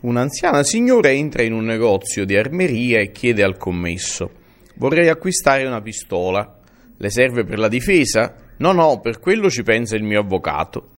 Un'anziana signora entra in un negozio di armeria e chiede al commesso: «Vorrei acquistare una pistola. Le serve per la difesa?» «No, per quello ci pensa il mio avvocato».